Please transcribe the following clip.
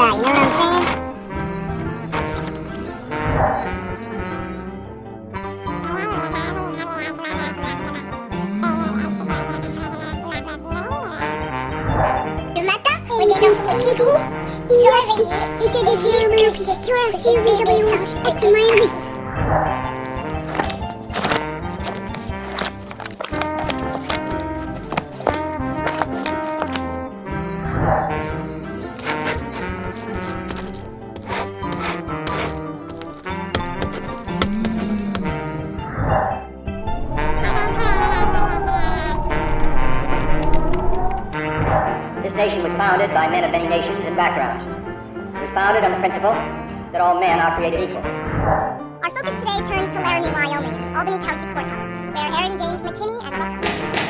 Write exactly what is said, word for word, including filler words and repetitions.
about, you know what I'm saying? Le matin, on est dans ce petit trou, ils sont réveillés, et t'as des pieds bleus, tu vois, c'est une bébé singe, excellent aussi. This nation was founded by men of many nations and backgrounds. It was founded on the principle that all men are created equal. Our focus today turns to Laramie, Wyoming, the Albany County Courthouse, where Aaron James McKinney and Russell